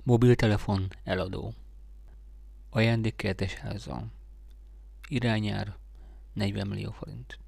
Mobiltelefon eladó. Ajándékkertes házzal. Irányár 40 millió forint.